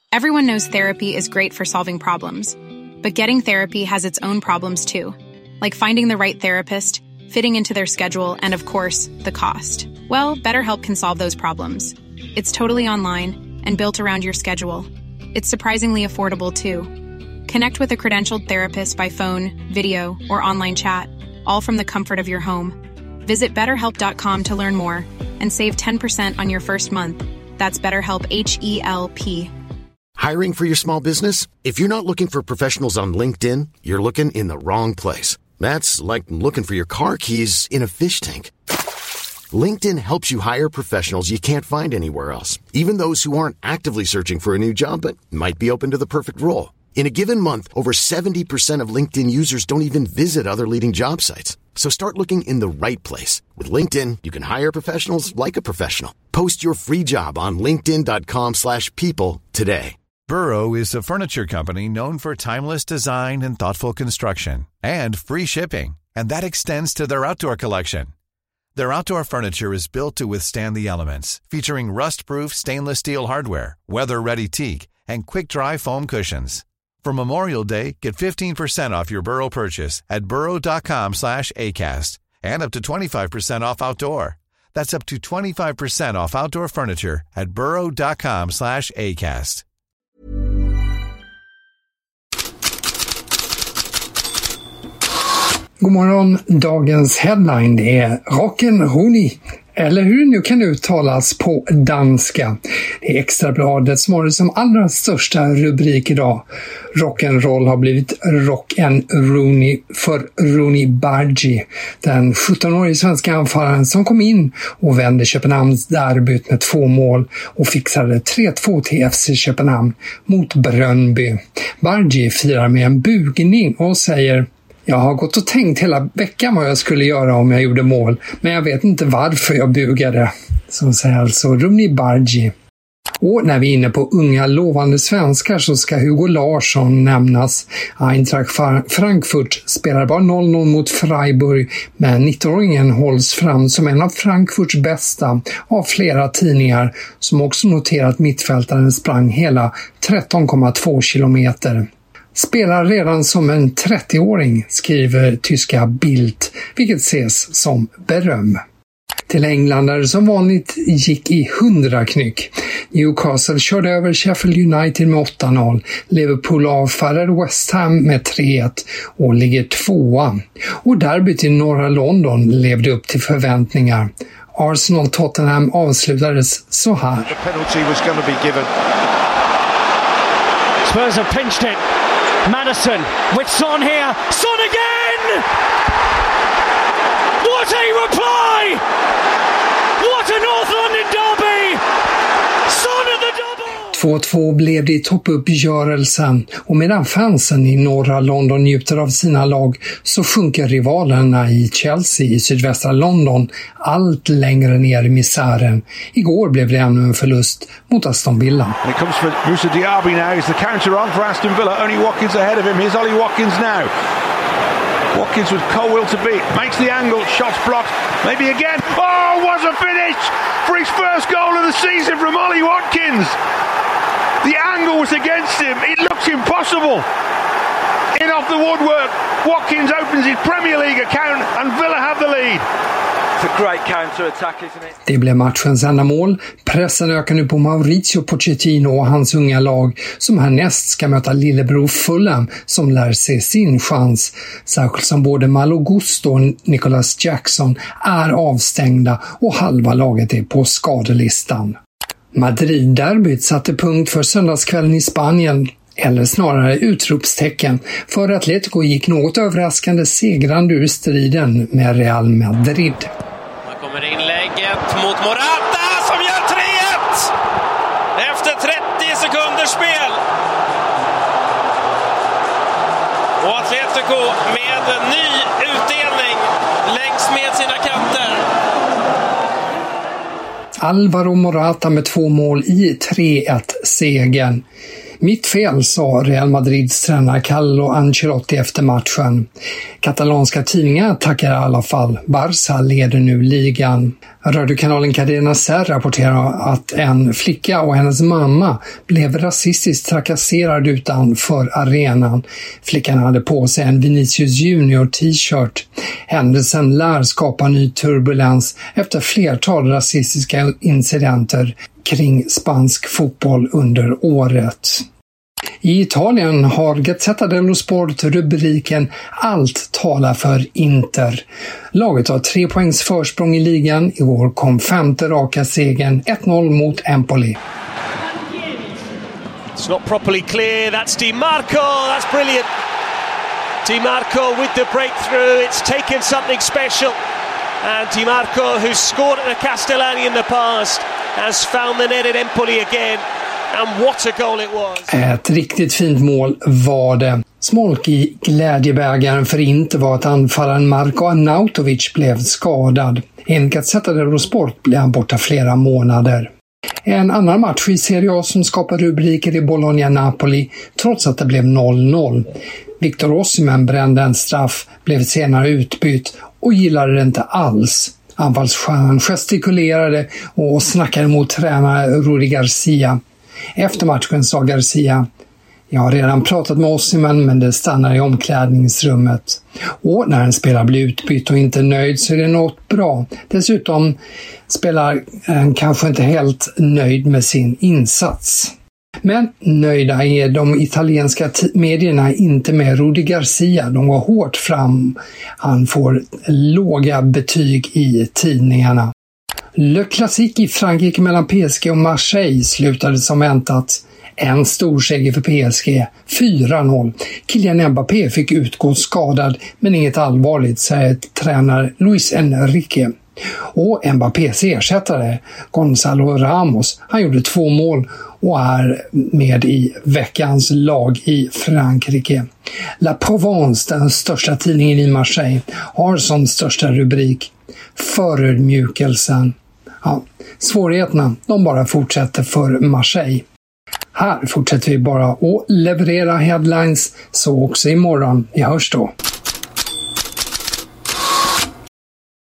Everyone knows therapy is great for solving problems. But getting therapy has its own problems too. Like finding the right therapist, fitting into their schedule, and of course, the cost. Well, BetterHelp can solve those problems. It's totally online and built around your schedule. It's surprisingly affordable too. Connect with a credentialed therapist by phone, video, or online chat, all from the comfort of your home. Visit BetterHelp.com to learn more and save 10% on your first month. That's BetterHelp, H-E-L-P. Hiring for your small business? If you're not looking for professionals on LinkedIn, you're looking in the wrong place. That's like looking for your car keys in a fish tank. LinkedIn helps you hire professionals you can't find anywhere else, even those who aren't actively searching for a new job but might be open to the perfect role. In a given month, over 70% of LinkedIn users don't even visit other leading job sites. So start looking in the right place. With LinkedIn, you can hire professionals like a professional. Post your free job on linkedin.com/people today. Burrow is a furniture company known for timeless design and thoughtful construction, and free shipping, and that extends to their outdoor collection. Their outdoor furniture is built to withstand the elements, featuring rust-proof stainless steel hardware, weather-ready teak, and quick-dry foam cushions. For Memorial Day, get 15% off your Burrow purchase at burrow.com/acast, and up to 25% off outdoor. That's up to 25% off outdoor furniture at burrow.com/acast. God morgon, dagens headline det är Rock'n'Roll, eller hur det nu kan uttalas på danska. Det är Extrabladet som har det som allra största rubrik idag. Rock'n'Roll har blivit Rock'n'Rooney för Rooney Bargi, den 17-årige svenska anfallaren som kom in och vände Köpenhamns derbyt med 2 mål och fixade 3-2 till FC Köpenhamn mot Brøndby. Bargi firar med en bugning och säger: "Jag har gått och tänkt hela veckan vad jag skulle göra om jag gjorde mål, men jag vet inte varför jag bugade." Så säger alltså Rooney Bargi. Och när vi är inne på unga lovande svenskar så ska Hugo Larsson nämnas. Eintracht Frankfurt spelar bara 0-0 mot Freiburg, men 19-åringen hålls fram som en av Frankfurts bästa av flera tidningar som också noterat mittfältaren sprang hela 13,2 kilometer. Spelar redan som en 30-åring, skriver tyska Bild, vilket ses som beröm. Till engländare som vanligt gick i 100 knyck. Newcastle körde över Sheffield United med 8-0. Liverpool avfärdade West Ham med 3-1 och ligger 2:a. Och derbyt i norra London levde upp till förväntningar. Arsenal-Tottenham avslutades så här. The penalty was going to be given. Spurs have pinched it. Maddison with Son here. Son again! What a reply! What a North London derby! Son of the double! 2-2 blev det i toppuppgörelsen, och medan fansen i norra London njuter av sina lag så sjunker rivalerna i Chelsea i sydvästra London allt längre ner i misären. Igår blev det ännu en förlust mot Aston Villa. And it comes for Moussa Diaby now. Is the counter on for Aston Villa? Only Watkins ahead of him. Here's Ollie Watkins now. Watkins with cold will to beat. Makes the angle. Shots blocked. Maybe again. Oh, what a finish for his first goal of the season from Ollie Watkins. The angle was against him. It looks impossible. In off the woodwork. Watkins opens his Premier League account and Villa have the lead. It's a great counter-attack, isn't it? Det blev matchens enda mål. Pressen ökar nu på Mauricio Pochettino och hans unga lag som härnäst ska möta lillebror Fulham som lär sig sin chans. Särskilt som både Malo Gusto och Nicholas Jackson är avstängda och halva laget är på skadelistan. Madrid-derbyt satte punkt för söndagskvällen i Spanien, eller snarare utropstecken, för Atletico gick något överraskande segrande ur striden med Real Madrid. Här kommer inlägget mot Morata som gör 3-1 efter 30 sekunders spel. Och Atletico med ny utdelning längs med sina kanter. Alvaro Morata med 2 mål i 3-1-segern. Mitt fel, sa Real Madrids tränare Carlo Ancelotti efter matchen. Katalanska tidningar tackar i alla fall. Barça leder nu ligan. Radiokanalen Cadena Ser rapporterar att en flicka och hennes mamma blev rasistiskt trakasserad utanför arenan. Flickan hade på sig en Vinicius Junior t-shirt. Händelsen lär skapa ny turbulens efter flertal rasistiska incidenter kring spansk fotboll under året. I Italien har Gazzetta dello Sport rubriken "Allt talar för Inter". Laget har 3 poängs försprång i ligan. I år kom 5:e raka segern, 1-0 mot Empoli. It's not properly clear. That's Di Marco. That's brilliant. Di Marco with the breakthrough. It's taken something special. And Di Marco, who's scored at the Castellani in the past, has found the net at Empoli again. And what a goal it was. Ett riktigt fint mål var det. Smolk i glädjebägaren för Inter var att anfallaren Marko Arnautovic blev skadad. Enligt Gazzetta dello Sport blev han borta flera månader. En annan match i Serie A som skapar rubriker i Bologna-Napoli trots att det blev 0-0. Victor Osimhen brände en straff, blev senare utbytt och gillade det inte alls. Anfallsstjärnan gestikulerade och snackade mot tränare Rudi Garcia. Efter matchen sa Garcia: "Jag har redan pratat med Osimhen, men det stannar i omklädningsrummet. Och när en spelare blir utbytt och inte nöjd så är det något bra. Dessutom spelar han kanske inte helt nöjd med sin insats." Men nöjda är de italienska medierna inte med Rudi Garcia. De går hårt fram. Han får låga betyg i tidningarna. Le Classique i Frankrike mellan PSG och Marseille slutade som väntat. En stor seger för PSG, 4-0. Kylian Mbappé fick utgå skadad, men inget allvarligt, säger tränare Luis Enrique. Och Mbappés ersättare, Gonzalo Ramos, han gjorde 2 mål och är med i veckans lag i Frankrike. La Provence, den största tidningen i Marseille, har som största rubrik "Förödmjukelsen". Ja, svårigheterna, de bara fortsätter för Marseille. Här fortsätter vi bara att leverera headlines, så också imorgon. Vi hörs då.